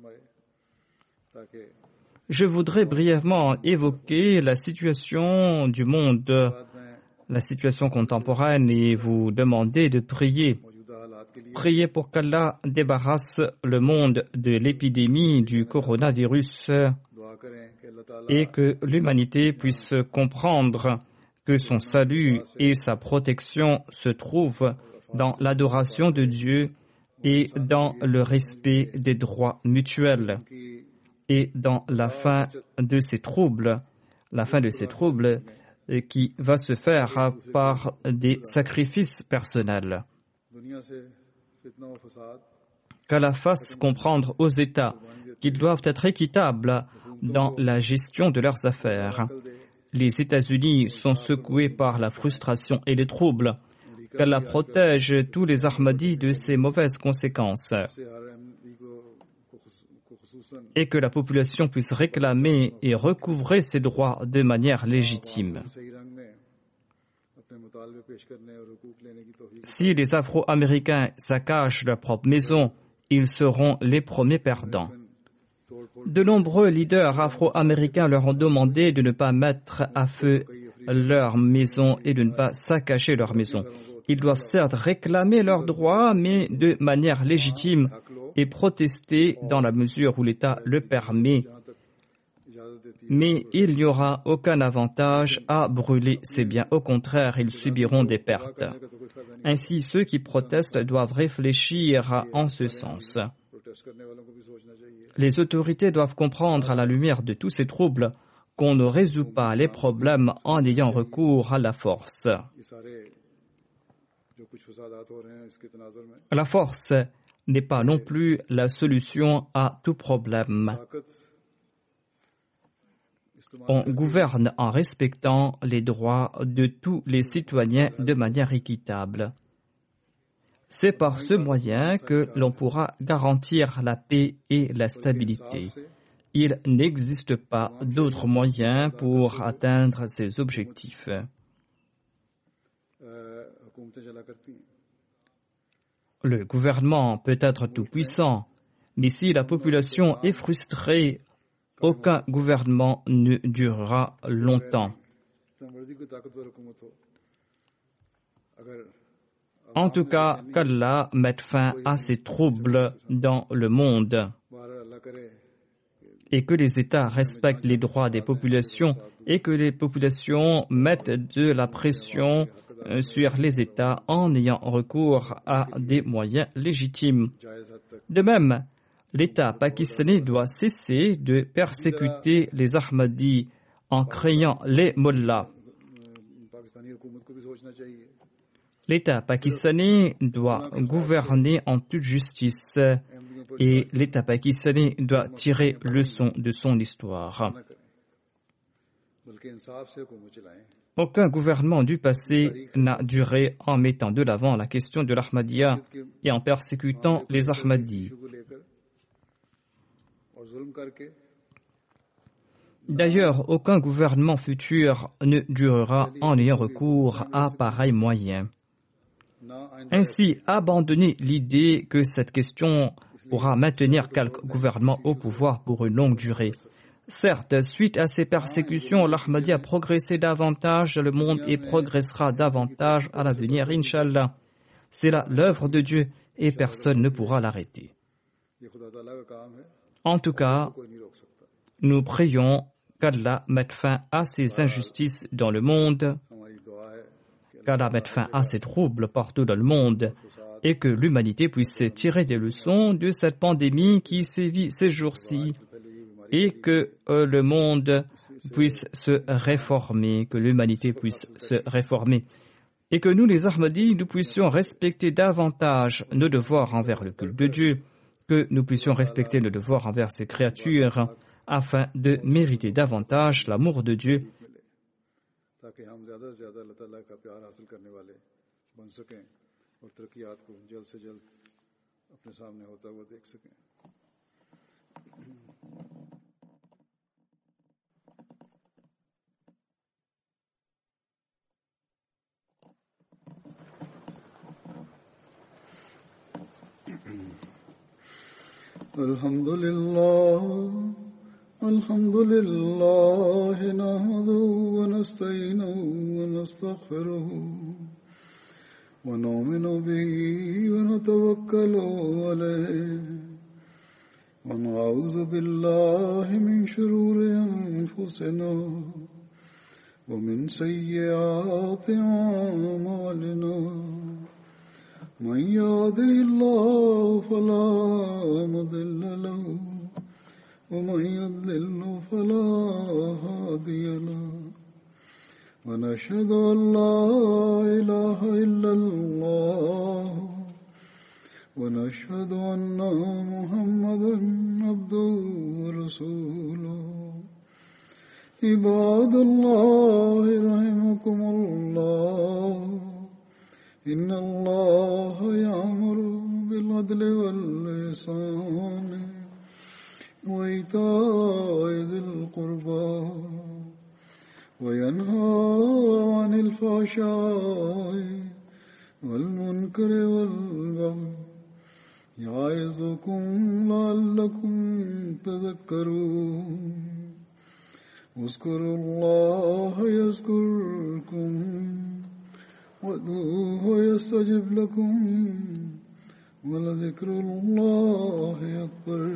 Je voudrais brièvement évoquer la situation du monde, la situation contemporaine, et vous demander de prier. Priez pour qu'Allah débarrasse le monde de l'épidémie du coronavirus et que l'humanité puisse comprendre que son salut et sa protection se trouvent dans l'adoration de Dieu et dans le respect des droits mutuels et dans la fin de ces troubles, qui va se faire par des sacrifices personnels. Qu'Allah fasse comprendre aux États qu'ils doivent être équitables dans la gestion de leurs affaires. Les États-Unis sont secoués par la frustration et les troubles. Qu'Allah protège tous les Ahmadis de ces mauvaises conséquences et que la population puisse réclamer et recouvrer ses droits de manière légitime. Si les Afro-Américains saccagent leur propre maison, ils seront les premiers perdants. De nombreux leaders afro-américains leur ont demandé de ne pas mettre à feu leur maison et de ne pas saccager leur maison. Ils doivent certes réclamer leurs droits, mais de manière légitime et protester dans la mesure où l'État le permet. Mais il n'y aura aucun avantage à brûler ces biens. Au contraire, ils subiront des pertes. Ainsi, ceux qui protestent doivent réfléchir en ce sens. Les autorités doivent comprendre à la lumière de tous ces troubles qu'on ne résout pas les problèmes en ayant recours à la force. La force n'est pas non plus la solution à tout problème. On gouverne en respectant les droits de tous les citoyens de manière équitable. C'est par ce moyen que l'on pourra garantir la paix et la stabilité. Il n'existe pas d'autre moyen pour atteindre ces objectifs. Le gouvernement peut être tout-puissant, mais si la population est frustrée, aucun gouvernement ne durera longtemps. En tout cas, qu'Allah mette fin à ces troubles dans le monde et que les États respectent les droits des populations et que les populations mettent de la pression sur les États en ayant recours à des moyens légitimes. De même, l'État pakistanais doit cesser de persécuter les Ahmadis en créant les mollahs. L'État pakistanais doit gouverner en toute justice et l'État pakistanais doit tirer leçon de son histoire. Aucun gouvernement du passé n'a duré en mettant de l'avant la question de l'Ahmadiyya et en persécutant les Ahmadis. D'ailleurs, aucun gouvernement futur ne durera en ayant recours à pareils moyens. Ainsi, abandonner l'idée que cette question pourra maintenir quelque gouvernement au pouvoir pour une longue durée. Certes, suite à ces persécutions, l'Ahmadiyya a progressé davantage dans le monde et progressera davantage à l'avenir, Inch'Allah. C'est là l'œuvre de Dieu et personne ne pourra l'arrêter. En tout cas, nous prions qu'Allah mette fin à ces injustices dans le monde, qu'Allah mette fin à ces troubles partout dans le monde et que l'humanité puisse tirer des leçons de cette pandémie qui sévit ces jours-ci et que le monde puisse se réformer, que l'humanité puisse se réformer et que nous, les Ahmadis, nous puissions respecter davantage nos devoirs envers le culte de Dieu, que nous puissions respecter nos devoirs envers ces créatures afin de mériter davantage l'amour de Dieu. الحمد لله نحمده ونستعينه ونستغفره ونؤمن به ونتوكل عليه ونعوذ بالله من شرور أنفسنا ومن سيئات أعمالنا من يهده الله فلا مضل له ومن يضلل فلا هادي له ونشهد أن لا إله إلا الله ونشهد أن محمدا عبده ورسوله عباد الله رحمكم الله إن الله يأمر بالعدل والإحسان وإيتاء ذي القربى وينهى عن الفحشاء والمنكر والبغي يعظكم لعلكم تذكرون اذكروا الله يذكركم وادعوه يستجب لكم ولذكر الله أكبر